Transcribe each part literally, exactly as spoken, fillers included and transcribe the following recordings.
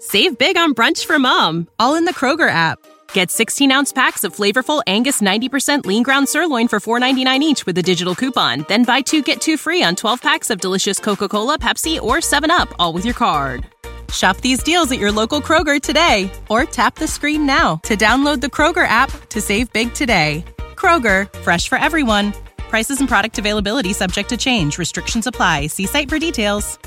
Save big on brunch for mom, all in the Kroger app. Get sixteen-ounce packs of flavorful Angus ninety percent lean ground sirloin for four ninety-nine each with a digital coupon. Then buy two, get two free on twelve packs of delicious Coca-Cola, Pepsi, or seven up, all with your card. Shop these deals at your local Kroger today, or tap the screen now to download the Kroger app to save big today. Kroger, fresh for everyone. Prices and product availability subject to change. Restrictions apply. See site for details.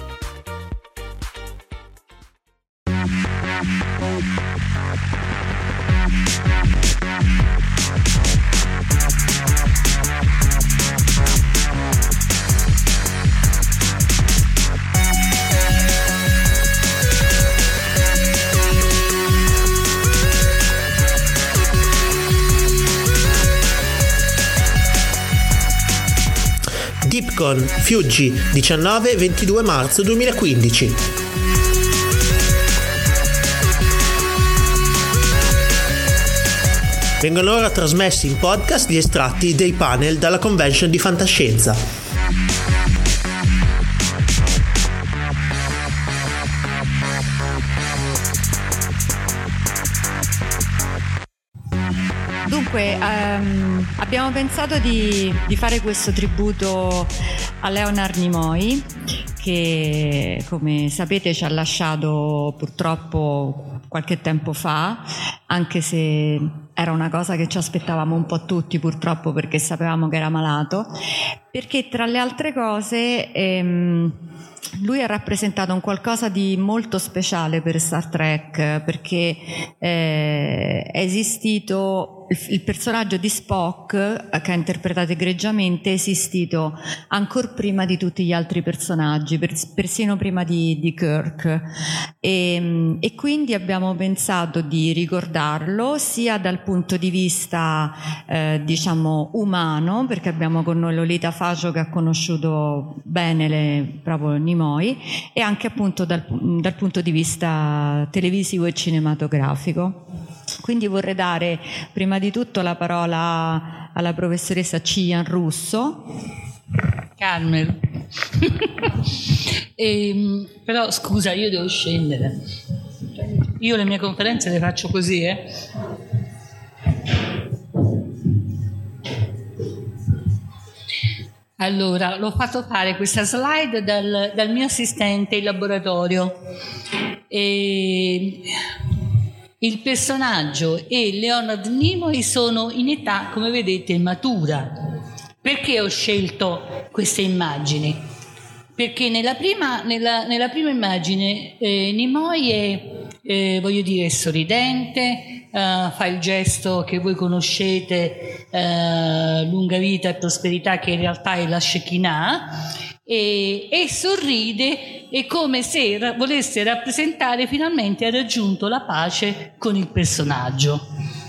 Dipcon, Fiuggi, diciannove ventidue marzo duemilaquindici. Vengono ora trasmessi in podcast gli estratti dei panel dalla convention di fantascienza. Dunque, um, abbiamo pensato di, di fare questo tributo a Leonard Nimoy, che come sapete ci ha lasciato purtroppo qualche tempo fa, anche se era una cosa che ci aspettavamo un po' tutti purtroppo, perché sapevamo che era malato, perché tra le altre cose ehm, lui ha rappresentato un qualcosa di molto speciale per Star Trek, perché eh, è esistito il, il personaggio di Spock, che ha interpretato egregiamente, è esistito ancora prima di tutti gli altri personaggi, pers- persino prima di, di Kirk, e, e quindi abbiamo pensato di ricordarlo sia dal punto di vista eh, diciamo umano, perché abbiamo con noi Lolita Facio che ha conosciuto bene le, proprio Nimoy, e anche appunto dal, dal punto di vista televisivo e cinematografico. Quindi vorrei dare prima di tutto la parola alla professoressa Cillian Russo. Carmel. e, però scusa, io devo scendere. Io le mie conferenze le faccio così, eh. Allora, l'ho fatto fare questa slide dal, dal mio assistente in laboratorio. E il personaggio e Leonard Nimoy sono in età, come vedete, matura. Perché ho scelto queste immagini? Perché nella prima, nella, nella prima immagine eh, Nimoy è, eh, voglio dire, sorridente, eh, fa il gesto che voi conoscete, eh, lunga vita e prosperità, che in realtà è la Shekinah, e, e sorride, è come se ra- volesse rappresentare finalmente ha raggiunto la pace con il personaggio.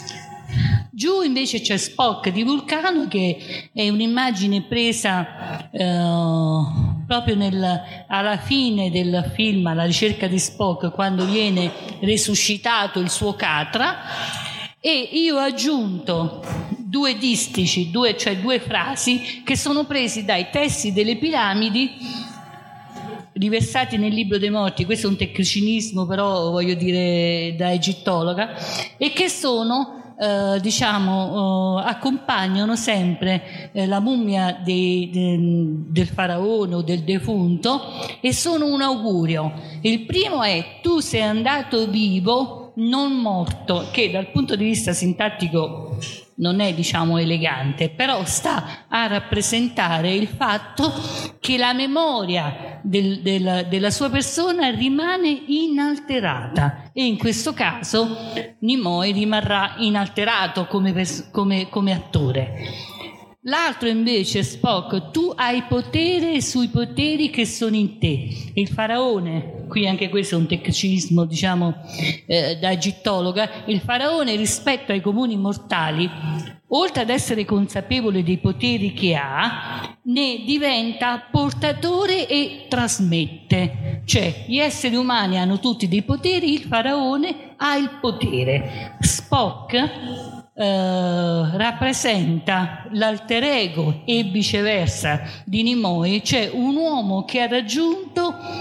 Giù invece c'è Spock di Vulcano, che è un'immagine presa eh, proprio nel, alla fine del film, alla ricerca di Spock, quando viene resuscitato il suo Catra, e io ho aggiunto due distici, due, cioè due frasi che sono presi dai testi delle piramidi riversati nel libro dei morti. Questo è un tecnicismo, però voglio dire da egittologa, e che sono Uh, diciamo uh, accompagnano sempre uh, la mummia de, de, del faraone o del defunto, e sono un augurio. Il primo è: tu sei andato vivo, non morto, che dal punto di vista sintattico non è, diciamo, elegante, però sta a rappresentare il fatto che la memoria del, del, della sua persona rimane inalterata, e in questo caso Nimoy rimarrà inalterato come, pers- come, come attore. L'altro invece, Spock, tu hai potere sui poteri che sono in te. Il faraone, qui anche questo è un tecnicismo, diciamo, eh, da egittologa, il faraone rispetto ai comuni mortali, oltre ad essere consapevole dei poteri che ha, ne diventa portatore e trasmette. Cioè, gli esseri umani hanno tutti dei poteri, il faraone ha il potere. Spock Uh, rappresenta l'alter ego e viceversa di Nimoy, cioè un uomo che ha raggiunto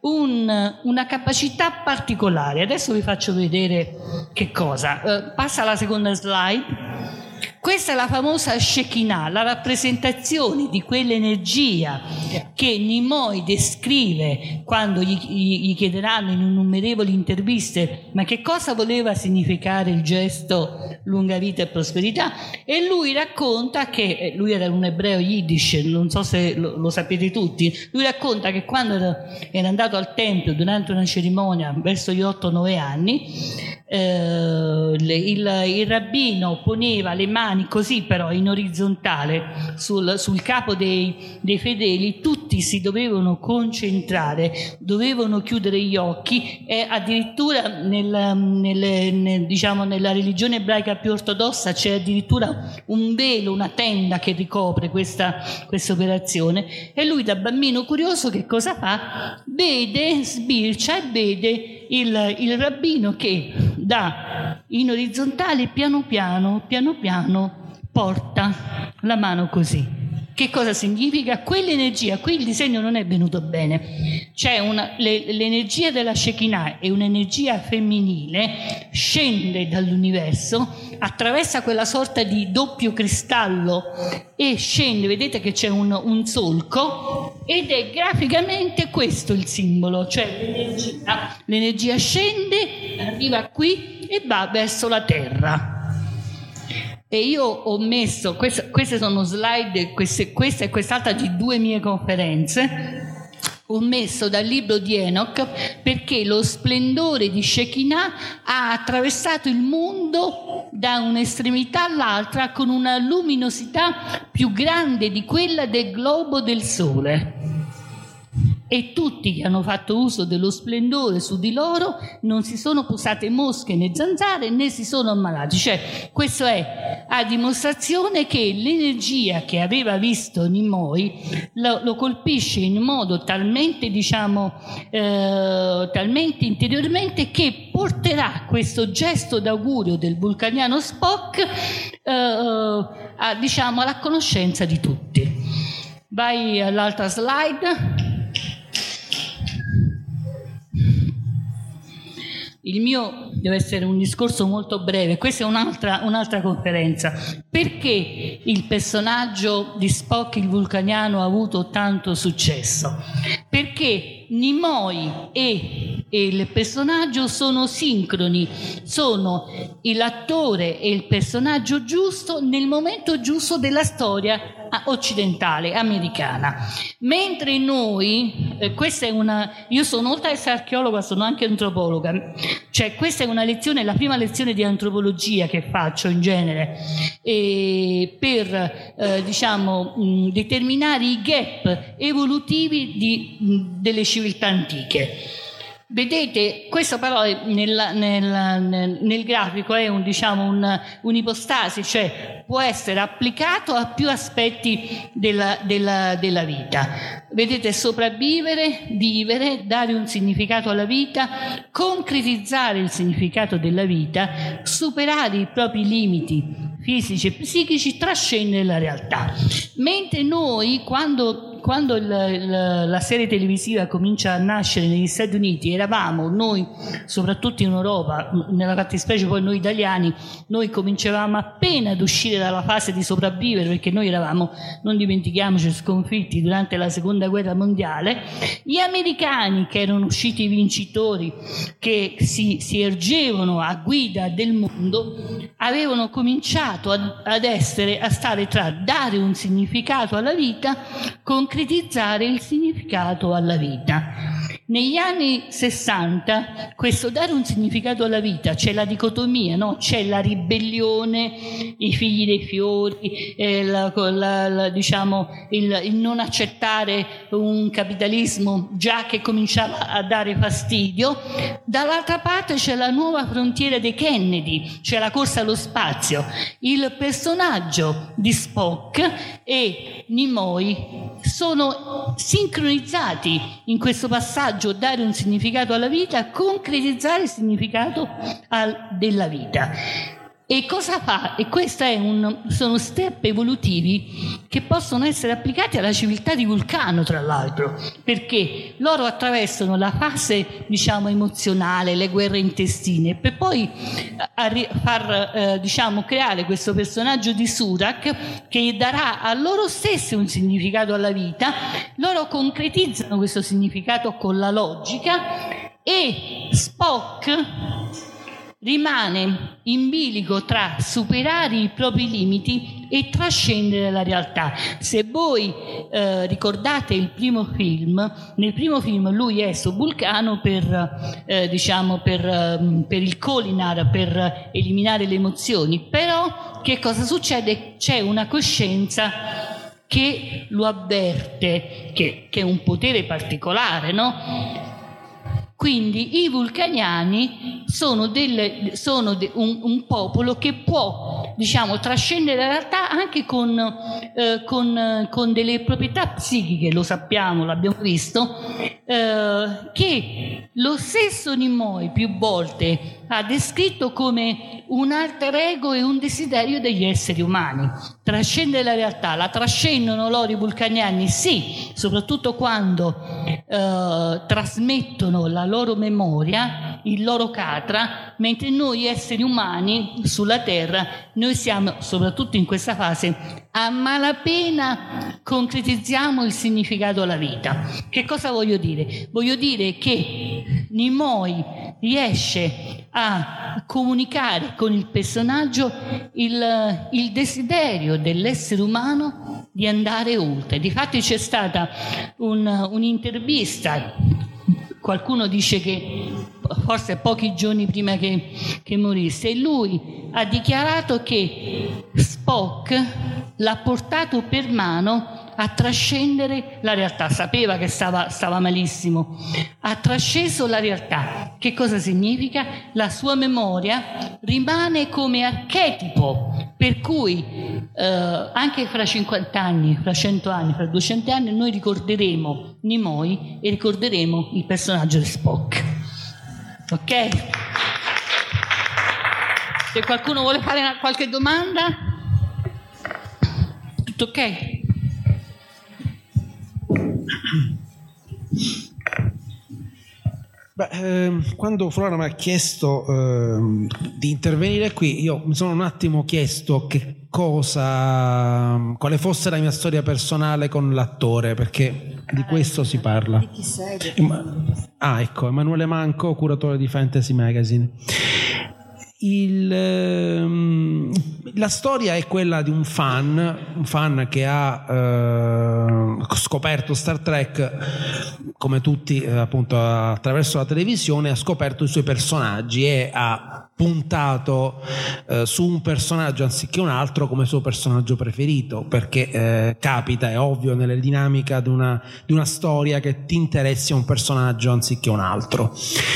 un, una capacità particolare. Adesso vi faccio vedere che cosa. Uh, passa alla seconda slide. Questa è la famosa Shekinah, la rappresentazione di quell'energia che Nimoy descrive quando gli, gli chiederanno in innumerevoli interviste ma che cosa voleva significare il gesto lunga vita e prosperità, e lui racconta che, lui era un ebreo yiddish, non so se lo, lo sapete tutti, lui racconta che quando era, era andato al tempio durante una cerimonia verso gli otto nove anni, eh, il, il rabbino poneva le mani così però in orizzontale sul, sul capo dei, dei fedeli, tutti si dovevano concentrare, dovevano chiudere gli occhi, e addirittura nel, nel, nel, diciamo, nella religione ebraica più ortodossa c'è addirittura un velo, una tenda che ricopre questa, questa operazione, e lui da bambino curioso che cosa fa? Vede, sbircia e vede il, il rabbino che da in orizzontale piano piano, piano piano porta la mano così. Che cosa significa? Quell'energia, qui il disegno non è venuto bene, c'è una, le, l'energia della Shekinah è un'energia femminile, scende dall'universo, attraversa quella sorta di doppio cristallo e scende, vedete che c'è un, un solco, ed è graficamente questo il simbolo, cioè l'energia, l'energia scende, arriva qui e va verso la terra. E io ho messo, queste, queste sono slide, queste, questa e quest'altra di due mie conferenze, ho messo dal libro di Enoch, perché lo splendore di Shekinah ha attraversato il mondo da un'estremità all'altra con una luminosità più grande di quella del globo del sole. E tutti che hanno fatto uso dello splendore su di loro non si sono posate mosche né zanzare né si sono ammalati. Cioè, questo è a dimostrazione che l'energia che aveva visto Nimoy lo, lo colpisce in modo talmente, diciamo, eh, talmente interiormente che porterà questo gesto d'augurio del vulcaniano Spock eh, a, diciamo, alla conoscenza di tutti. Vai all'altra slide. Il mio deve essere un discorso molto breve, questa è un'altra, un'altra conferenza. Perché il personaggio di Spock, il vulcaniano, ha avuto tanto successo? Perché Nimoy e, e il personaggio sono sincroni, sono l'attore e il personaggio giusto nel momento giusto della storia occidentale, americana. Mentre noi, eh, questa è una, io sono oltre ad essere archeologa, sono anche antropologa, cioè questa è una lezione, la prima lezione di antropologia che faccio in genere, e per eh, diciamo mh, determinare i gap evolutivi di, mh, delle civiltà antiche. Vedete, questo però è nel, nel, nel, nel grafico è un, diciamo, un, un'ipostasi, cioè può essere applicato a più aspetti della, della, della vita. Vedete, sopravvivere, vivere, dare un significato alla vita, concretizzare il significato della vita, superare i propri limiti fisici e psichici, trascendere la realtà. Mentre noi, quando Quando il, il, la serie televisiva comincia a nascere negli Stati Uniti, eravamo noi, soprattutto in Europa, nella fattispecie poi noi italiani, noi cominciavamo appena ad uscire dalla fase di sopravvivere, perché noi eravamo, non dimentichiamoci, sconfitti durante la seconda guerra mondiale. Gli americani, che erano usciti vincitori, che si, si ergevano a guida del mondo, avevano cominciato ad, ad essere, a stare tra dare un significato alla vita, concretizzare il significato alla vita. Negli anni sessanta questo dare un significato alla vita, c'è la dicotomia, no? C'è la ribellione, i figli dei fiori, eh, la, la, la, diciamo, il, il non accettare un capitalismo già che cominciava a dare fastidio. Dall'altra parte c'è la nuova frontiera dei Kennedy, c'è la corsa allo spazio. Il personaggio di Spock e Nimoy sono sincronizzati in questo passaggio, dare un significato alla vita, concretizzare il significato al, della vita. E cosa fa? E questi sono step evolutivi che possono essere applicati alla civiltà di Vulcano, tra l'altro, perché loro attraversano la fase, diciamo, emozionale, le guerre intestine, per poi arri- far, eh, diciamo, creare questo personaggio di Surak che darà a loro stessi un significato alla vita. Loro concretizzano questo significato con la logica, e Spock rimane in bilico tra superare i propri limiti e trascendere la realtà. Se voi eh, ricordate il primo film, nel primo film lui è su Vulcano per, eh, diciamo, per, eh, per il Kholinar, per eliminare le emozioni, però che cosa succede? C'è una coscienza che lo avverte, che, che è un potere particolare, no? Quindi i vulcaniani sono, delle, sono de, un, un popolo che può, diciamo, trascendere la realtà anche con, eh, con, con delle proprietà psichiche, lo sappiamo, l'abbiamo visto, eh, che lo stesso Nimoy più volte ha descritto come un alter ego e un desiderio degli esseri umani. Trascendere la realtà, la trascendono loro i vulcaniani, sì, soprattutto quando eh, trasmettono la loro memoria, il loro katra, mentre noi esseri umani sulla Terra, noi siamo, soprattutto in questa fase, a malapena concretizziamo il significato alla vita. Che cosa voglio dire? Voglio dire che Nimoy riesce a comunicare con il personaggio il, il desiderio dell'essere umano di andare oltre. Difatti c'è stata un, un'intervista, qualcuno dice che forse pochi giorni prima che, che morisse, e lui ha dichiarato che Spock l'ha portato per mano a trascendere la realtà. Sapeva che stava, stava malissimo, ha trasceso la realtà. Che cosa significa? La sua memoria rimane come archetipo, per cui eh, anche fra cinquanta anni, fra cento anni, fra duecento anni noi ricorderemo Nimoy e ricorderemo il personaggio di Spock. Ok? Se qualcuno vuole fare una, qualche domanda? Tutto ok? Beh, ehm, quando Flora mi ha chiesto ehm, di intervenire qui, io mi sono un attimo chiesto che cosa, quale fosse la mia storia personale con l'attore, perché di questo si parla. Di chi sei? Ah, ecco, Emanuele Manco, curatore di Fantasy Magazine. Il, ehm, la storia è quella di un fan, un fan che ha eh, scoperto Star Trek, come tutti, eh, appunto attraverso la televisione, ha scoperto i suoi personaggi e ha puntato eh, su un personaggio anziché un altro come suo personaggio preferito, perché eh, capita, è ovvio, nelle dinamiche di una, di una storia che ti interessi a un personaggio anziché un altro.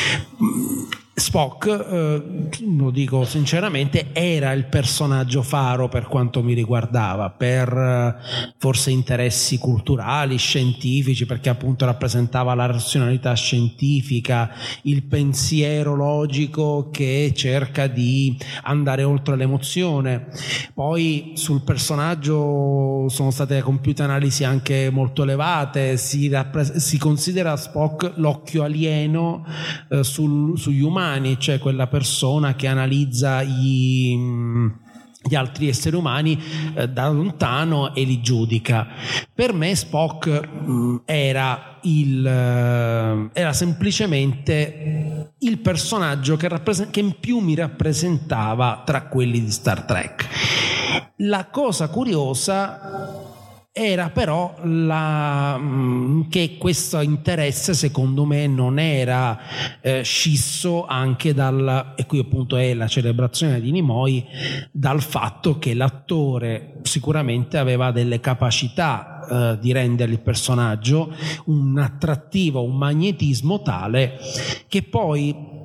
Spock, eh, lo dico sinceramente, era il personaggio faro per quanto mi riguardava, per eh, forse interessi culturali, scientifici, perché appunto rappresentava la razionalità scientifica, il pensiero logico che cerca di andare oltre l'emozione. Poi sul personaggio sono state compiute analisi anche molto elevate, si, rappres- si considera Spock l'occhio alieno eh, sul, sugli umani, cioè quella persona che analizza gli, gli altri esseri umani eh, da lontano e li giudica. Per me Spock mh, era il eh, era semplicemente il personaggio che, rappresent- che in più mi rappresentava tra quelli di Star Trek. La cosa curiosa era però la, che questo interesse secondo me non era eh, scisso anche dal, e qui appunto è la celebrazione di Nimoy, dal fatto che l'attore sicuramente aveva delle capacità eh, di rendere il personaggio un attrattivo, un magnetismo tale che poi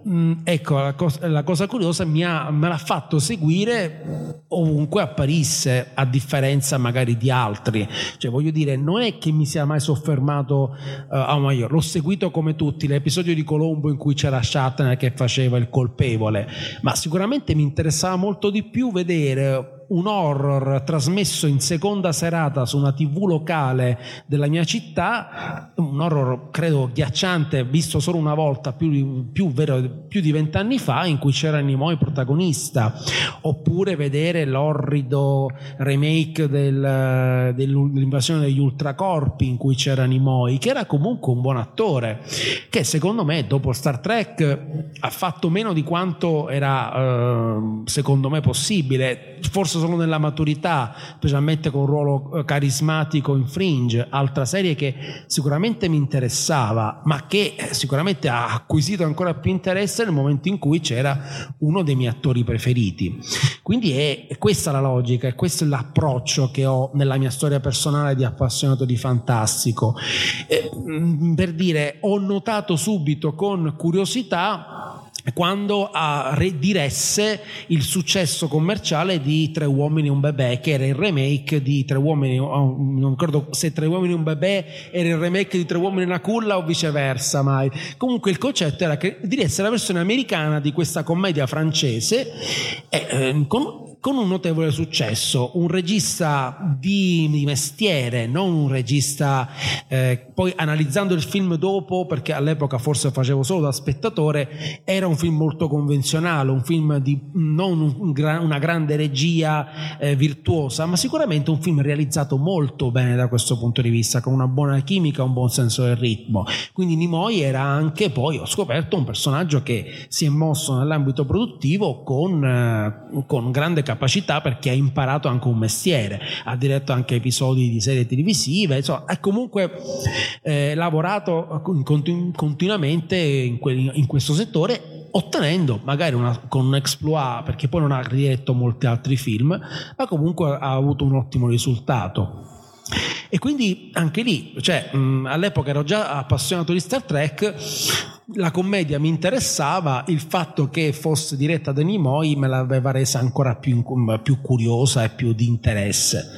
mh, ecco, la cosa, la cosa curiosa mi ha, me l'ha fatto seguire ovunque apparisse, a differenza magari di altri. Cioè, voglio dire, non è che mi sia mai soffermato, uh, oh, ma io l'ho seguito come tutti, l'episodio di Colombo in cui c'era Shatner che faceva il colpevole, ma sicuramente mi interessava molto di più vedere un horror trasmesso in seconda serata su una tivù locale della mia città, un horror credo ghiacciante, visto solo una volta più, più, vero, più di vent'anni fa, in cui c'era Nimoy protagonista, oppure vedere l'orrido remake del, dell'invasione degli ultracorpi in cui c'era Nimoy, che era comunque un buon attore, che secondo me dopo Star Trek ha fatto meno di quanto era eh, secondo me possibile, forse solo nella maturità, specialmente con un ruolo carismatico in Fringe, altra serie che sicuramente mi interessava, ma che sicuramente ha acquisito ancora più interesse nel momento in cui c'era uno dei miei attori preferiti. Quindi è, è questa la logica, è questo è l'approccio che ho nella mia storia personale di appassionato di fantastico. Eh, per dire, ho notato subito con curiosità quando uh, diresse il successo commerciale di Tre uomini e un bebè, che era il remake di Tre uomini, oh, non ricordo se Tre uomini e un bebè era il remake di Tre uomini e una culla o viceversa mai. Comunque il concetto era che diresse la versione americana di questa commedia francese eh, eh, con con un notevole successo, un regista di, di mestiere, non un regista eh, poi analizzando il film dopo, perché all'epoca forse facevo solo da spettatore, era un film molto convenzionale, un film di non un, un, una grande regia eh, virtuosa, ma sicuramente un film realizzato molto bene da questo punto di vista, con una buona chimica, un buon senso del ritmo. Quindi Nimoy era anche, poi ho scoperto, un personaggio che si è mosso nell'ambito produttivo con, eh, con grande capacità capacità, perché ha imparato anche un mestiere, ha diretto anche episodi di serie televisive, insomma ha comunque eh, lavorato continu- continuamente in, que- in questo settore, ottenendo magari una, con un exploit, perché poi non ha diretto molti altri film, ma comunque ha avuto un ottimo risultato. E quindi anche lì, cioè, mh, all'epoca ero già appassionato di Star Trek, la commedia mi interessava, il fatto che fosse diretta da Nimoy me l'aveva resa ancora più, più curiosa e più di interesse.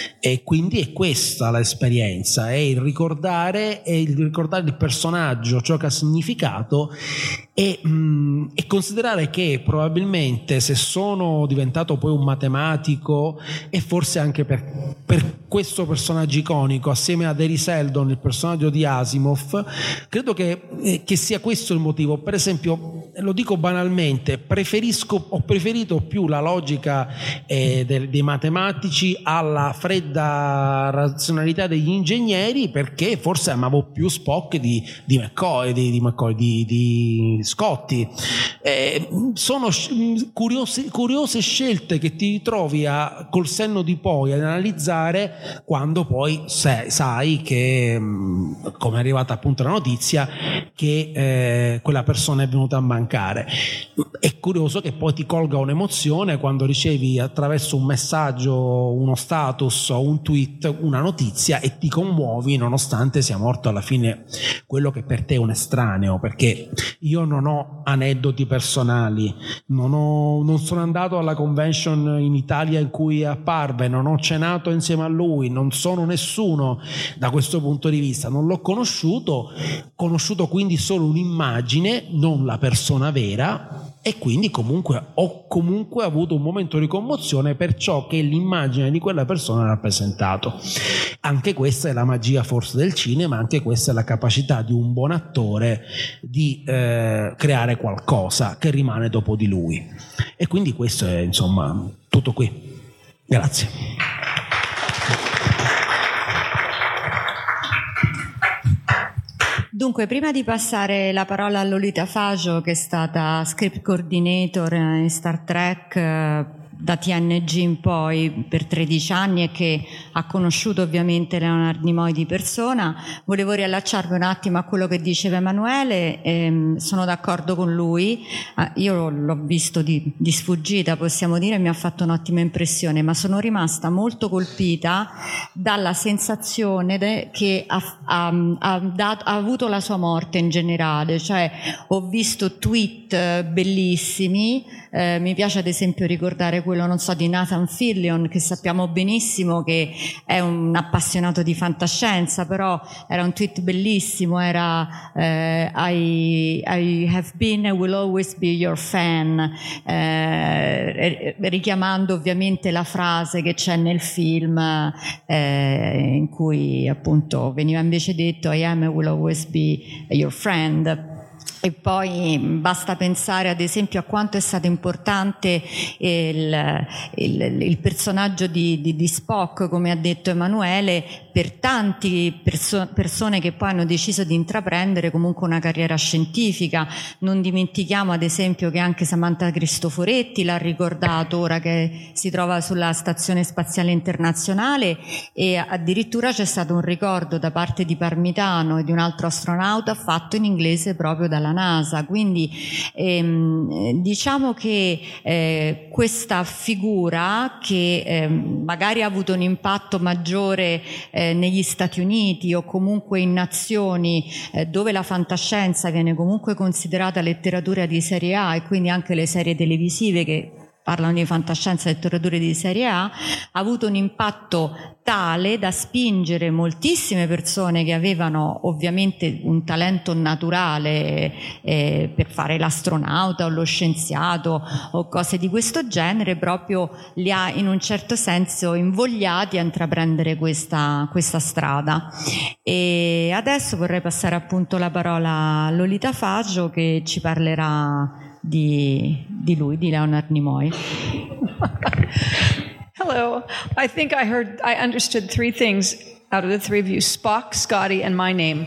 E quindi è questa l'esperienza, è il ricordare, è il ricordare il personaggio, ciò che ha significato, e, mh, e considerare che probabilmente se sono diventato poi un matematico, e forse anche per, per questo personaggio iconico, assieme a Hari Seldon, il personaggio di Asimov, credo che, eh, che sia questo il motivo. Per esempio, lo dico banalmente, preferisco, ho preferito più la logica eh, dei, dei matematici alla fredda razionalità degli ingegneri, perché forse amavo più Spock di, di McCoy, di, di, McCoy, di, di Scotty. Eh, sono curiose, curiose scelte che ti trovi a, col senno di poi ad analizzare quando poi sai, sai che, come è arrivata appunto la notizia, che eh, quella persona è venuta a mancare. È curioso che poi ti colga un'emozione quando ricevi attraverso un messaggio, uno status o un tweet una notizia e ti commuovi nonostante sia morto alla fine quello che per te è un estraneo, perché io non ho aneddoti personali, non, ho, non sono andato alla convention in Italia in cui apparve, non ho cenato insieme a lui, non sono nessuno da questo punto di vista, non l'ho conosciuto, conosciuto quindi solo un'immagine, non la persona vera, e quindi comunque ho comunque avuto un momento di commozione per ciò che l'immagine di quella persona ha rappresentato. Anche questa è la magia forse del cinema, anche questa è la capacità di un buon attore di eh, creare qualcosa che rimane dopo di lui. E quindi questo è insomma tutto qui. Grazie. Dunque, prima di passare la parola a Lolita Faggio, che è stata script coordinator in Star Trek da T N G in poi per tredici anni e che ha conosciuto ovviamente Leonard Nimoy di persona. Volevo riallacciarmi un attimo a quello che diceva Emanuele, ehm, sono d'accordo con lui, ah, io l'ho visto di, di sfuggita, possiamo dire, mi ha fatto un'ottima impressione, ma sono rimasta molto colpita dalla sensazione de, che ha, ha, ha, dato, ha avuto la sua morte in generale, cioè ho visto tweet bellissimi, eh, mi piace ad esempio ricordare quello, non so, di Nathan Fillion, che sappiamo benissimo che è un appassionato di fantascienza, però era un tweet bellissimo, era eh, I, I have been and will always be your fan, eh, richiamando ovviamente la frase che c'è nel film eh, in cui appunto veniva invece detto I am and will always be your friend. E poi basta pensare ad esempio a quanto è stato importante il, il, il personaggio di, di, di Spock, come ha detto Emanuele, per tanti perso- persone che poi hanno deciso di intraprendere comunque una carriera scientifica. Non dimentichiamo ad esempio che anche Samantha Cristoforetti l'ha ricordato ora che si trova sulla Stazione Spaziale Internazionale, e addirittura c'è stato un ricordo da parte di Parmitano e di un altro astronauta fatto in inglese proprio dalla NASA. Quindi ehm, diciamo che eh, questa figura che eh, magari ha avuto un impatto maggiore eh, negli Stati Uniti o comunque in nazioni eh, dove la fantascienza viene comunque considerata letteratura di serie A, e quindi anche le serie televisive che parlano di fantascienza e letterature di serie A, ha avuto un impatto tale da spingere moltissime persone che avevano ovviamente un talento naturale eh, per fare l'astronauta o lo scienziato o cose di questo genere, proprio li ha in un certo senso invogliati a intraprendere questa, questa strada. E adesso vorrei passare appunto la parola a Lolita Faggio, che ci parlerà di, di lui, di Leonard Nimoy. Hello. I think I heard, I understood three things out of the three of you: Spock, Scotty, and my name.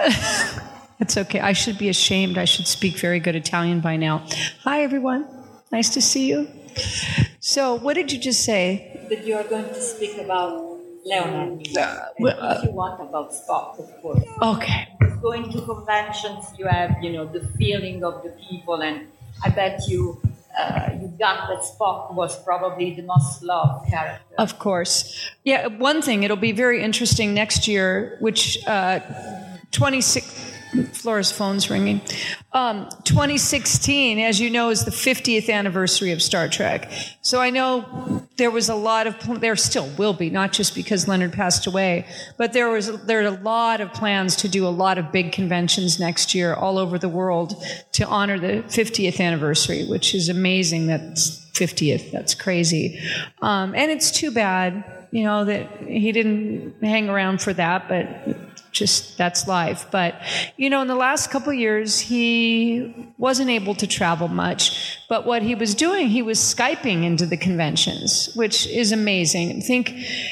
That's okay. I should be ashamed. I should speak very good Italian by now. Hi, everyone. Nice to see you. So, what did you just say? That you are going to speak about Leonard Nimoy. Uh, well, uh, if you want about Spock, of course. Okay. Going to conventions, you have, you know, the feeling of the people, and I bet you uh, you got that Spock was probably the most loved character. Of course. Yeah, one thing, it'll be very interesting next year, which uh, twenty-six... Flora's phone's ringing. Um, twenty sixteen, as you know, is the fiftieth anniversary of Star Trek. So I know there was a lot of, there still will be, not just because Leonard passed away, but there was there are a lot of plans to do a lot of big conventions next year all over the world to honor the fiftieth anniversary, which is amazing. That's fiftieth. That's crazy. Um, and it's too bad, you know, that he didn't hang around for that, but just that's life. But, you know, in the last couple of years, he wasn't able to travel much. But what he was doing, he was Skyping into the conventions, which is amazing. Think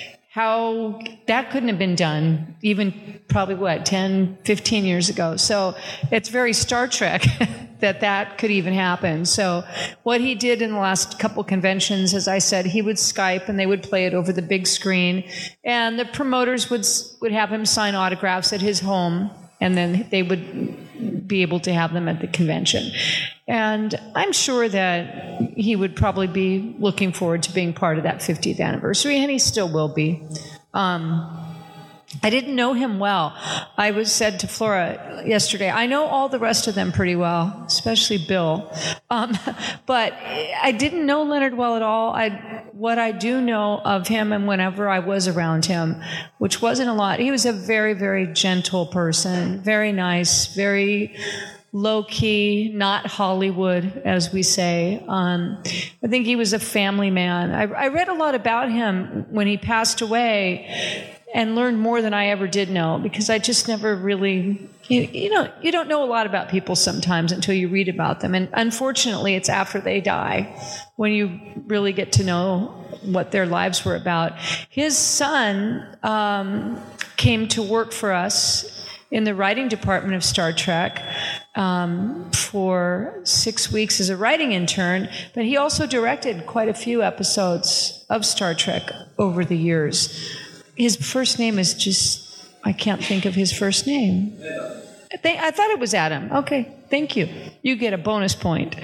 how that couldn't have been done even probably, what, ten, fifteen years ago. So it's very Star Trek that that could even happen. So what he did in the last couple conventions, as I said, he would Skype and they would play it over the big screen. And the promoters would would have him sign autographs at his home, and then they would be able to have them at the convention. And I'm sure that he would probably be looking forward to being part of that fiftieth anniversary, and he still will be. Um, I didn't know him well. I was said to Flora yesterday, I know all the rest of them pretty well, especially Bill. Um, but I didn't know Leonard well at all. I, what I do know of him, and whenever I was around him, which wasn't a lot, he was a very, very gentle person, very nice, very low-key, not Hollywood, as we say. Um, I think he was a family man. I, I read a lot about him when he passed away, and learned more than I ever did know, because I just never really, you, you know, you don't know a lot about people sometimes until you read about them. And unfortunately, it's after they die when you really get to know what their lives were about. His son um, came to work for us in the writing department of Star Trek um, for six weeks as a writing intern, but he also directed quite a few episodes of Star Trek over the years. His first name is just, I can't think of his first name. I, think, I thought it was Adam. Okay, thank you. You get a bonus point.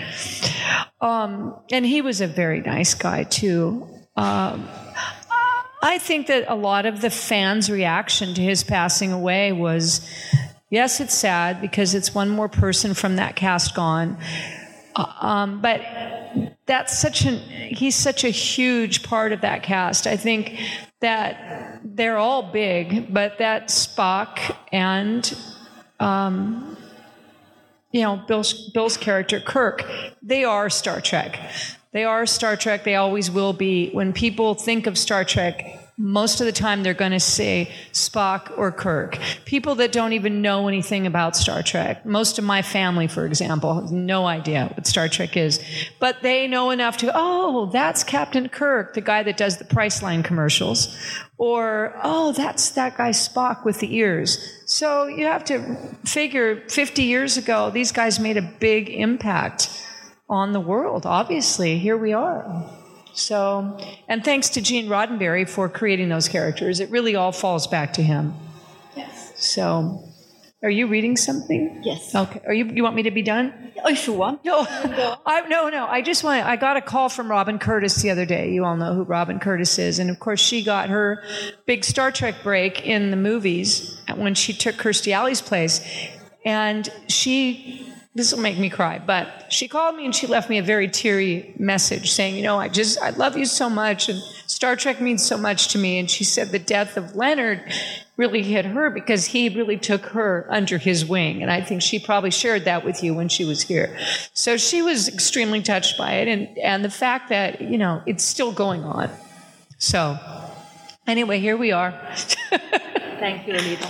Um, and he was a very nice guy, too. Um, I think that a lot of the fans' reaction to his passing away was, yes, it's sad because it's one more person from that cast gone. Uh, um, but that's such an, he's such a huge part of that cast. I think that they're all big, but that Spock and, um, you know, Bill's, Bill's character, Kirk, they are Star Trek. They are Star Trek. They always will be. When people think of Star Trek, most of the time they're going to say Spock or Kirk. People that don't even know anything about Star Trek. Most of my family, for example, has no idea what Star Trek is. But they know enough to, oh, that's Captain Kirk, the guy that does the Priceline commercials. Or, oh, that's that guy Spock with the ears. So you have to figure fifty years ago, these guys made a big impact on the world. Obviously, here we are. So, and thanks to Gene Roddenberry for creating those characters. It really all falls back to him. Yes. So, are you reading something? Yes. Okay. Are you? You want me to be done? Oh, if you want. No, I, no, no. I just want. I got a call from Robin Curtis the other day. You all know who Robin Curtis is, and of course, she got her big Star Trek break in the movies when she took Kirstie Alley's place, and she. This will make me cry, but she called me and she left me a very teary message saying, you know, I just, I love you so much and Star Trek means so much to me. And she said the death of Leonard really hit her because he really took her under his wing. And I think she probably shared that with you when she was here. So she was extremely touched by it and, and the fact that, you know, it's still going on. So anyway, here we are. Thank you, Alida.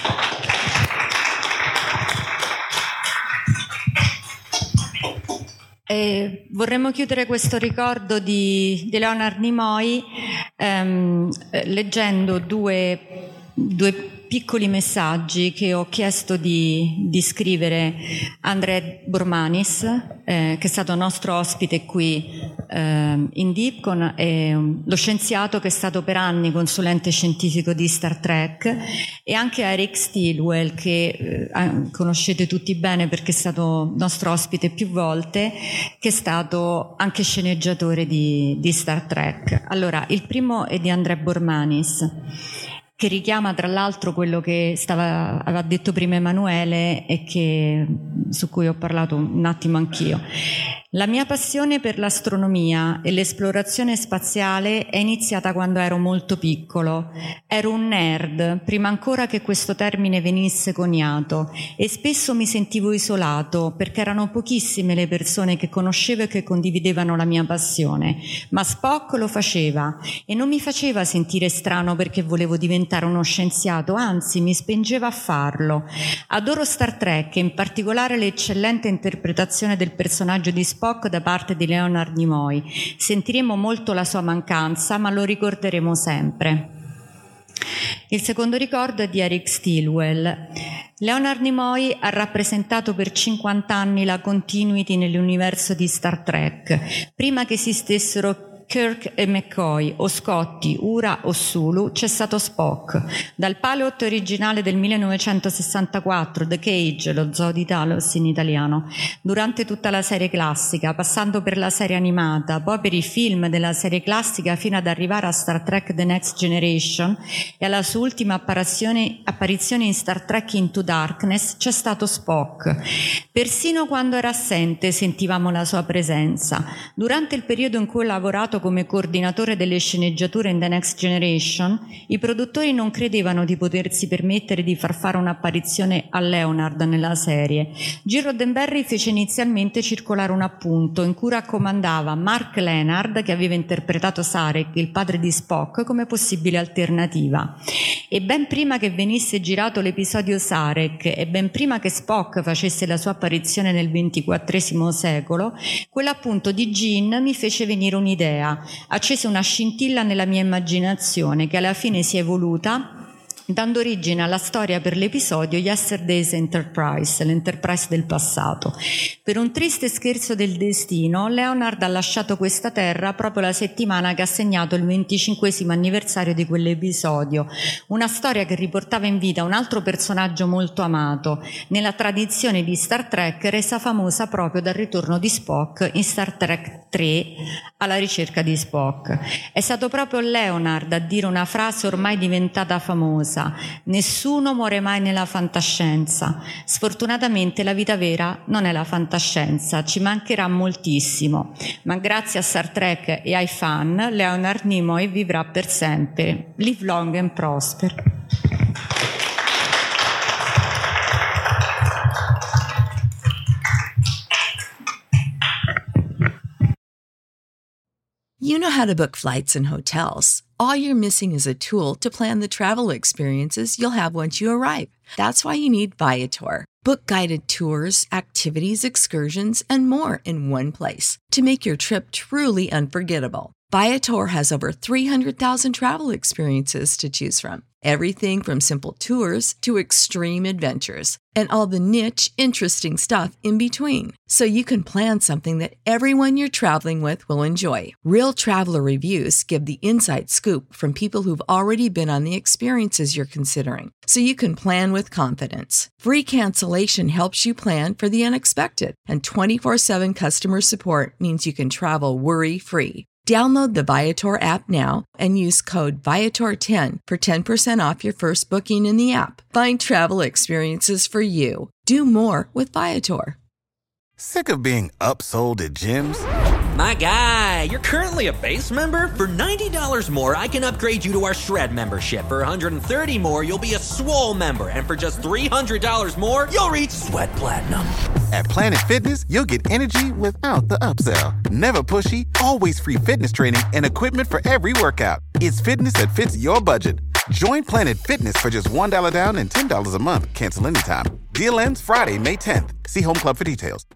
E vorremmo chiudere questo ricordo di, di Leonard Nimoy ehm, leggendo due, due piccoli messaggi che ho chiesto di, di scrivere a André Bormanis, eh, che è stato nostro ospite qui eh, in Dipcon, è lo scienziato che è stato per anni consulente scientifico di Star Trek, e anche a Eric Stilwell, che eh, conoscete tutti bene perché è stato nostro ospite più volte, che è stato anche sceneggiatore di, di Star Trek. Allora, il primo è di André Bormanis, che richiama tra l'altro quello che stava, aveva detto prima Emanuele e che, su cui ho parlato un attimo anch'io. La mia passione per l'astronomia e l'esplorazione spaziale è iniziata quando ero molto piccolo. Ero un nerd, prima ancora che questo termine venisse coniato, e spesso mi sentivo isolato perché erano pochissime le persone che conoscevo e che condividevano la mia passione. Ma Spock lo faceva e non mi faceva sentire strano perché volevo diventare uno scienziato, anzi mi spingeva a farlo. Adoro Star Trek e in particolare l'eccellente interpretazione del personaggio di Spock da parte di Leonard Nimoy. Sentiremo molto la sua mancanza, ma lo ricorderemo sempre. Il secondo ricordo è di Eric Stilwell. Leonard Nimoy ha rappresentato per cinquanta anni la continuity nell'universo di Star Trek. Prima che esistessero Kirk e McCoy, o Scotty, Uhura o Sulu, c'è stato Spock. Dal pilot originale del millenovecentosessantaquattro, The Cage, lo zoo di Talos in italiano, durante tutta la serie classica, passando per la serie animata, poi per i film della serie classica fino ad arrivare a Star Trek The Next Generation e alla sua ultima apparizione, apparizione in Star Trek Into Darkness, c'è stato Spock. Persino quando era assente sentivamo la sua presenza. Durante il periodo in cui ho lavorato come coordinatore delle sceneggiature in The Next Generation, i produttori non credevano di potersi permettere di far fare un'apparizione a Leonard nella serie. Gene Roddenberry fece inizialmente circolare un appunto in cui raccomandava Mark Lenard, che aveva interpretato Sarek, il padre di Spock, come possibile alternativa. E ben prima che venisse girato l'episodio Sarek e ben prima che Spock facesse la sua apparizione nel ventiquattresimo secolo, quell'appunto di Gene mi fece venire un'idea. Accese una scintilla nella mia immaginazione che alla fine si è evoluta dando origine alla storia per l'episodio Yesterday's Enterprise, l'Enterprise del passato. Per un triste scherzo del destino, Leonard ha lasciato questa terra proprio la settimana che ha segnato il venticinquesimo anniversario di quell'episodio, una storia che riportava in vita un altro personaggio molto amato, nella tradizione di Star Trek resa famosa proprio dal ritorno di Spock in Star Trek tre, alla ricerca di Spock. È stato proprio Leonard a dire una frase ormai diventata famosa: nessuno muore mai nella fantascienza. Sfortunatamente la vita vera non è la fantascienza, ci mancherà moltissimo, ma grazie a Star Trek e ai fan, Leonard Nimoy vivrà per sempre. Live long and prosper. You know how to book flights and hotels. All you're missing is a tool to plan the travel experiences you'll have once you arrive. That's why you need Viator. Book guided tours, activities, excursions, and more in one place to make your trip truly unforgettable. Viator has over three hundred thousand travel experiences to choose from. Everything from simple tours to extreme adventures and all the niche, interesting stuff in between. So you can plan something that everyone you're traveling with will enjoy. Real traveler reviews give the inside scoop from people who've already been on the experiences you're considering. So you can plan with confidence. Free cancellation helps you plan for the unexpected. And twenty-four seven customer support means you can travel worry-free. Download the Viator app now and use code Viator ten for ten percent off your first booking in the app. Find travel experiences for you. Do more with Viator. Sick of being upsold at gyms? My guy, you're currently a base member. For ninety dollars more, I can upgrade you to our Shred membership. For one hundred thirty dollars more, you'll be a Swole member. And for just three hundred dollars more, you'll reach Sweat Platinum. At Planet Fitness, you'll get energy without the upsell. Never pushy, always free fitness training and equipment for every workout. It's fitness that fits your budget. Join Planet Fitness for just one dollar down and ten dollars a month. Cancel anytime. Deal ends Friday, May tenth. See Home Club for details.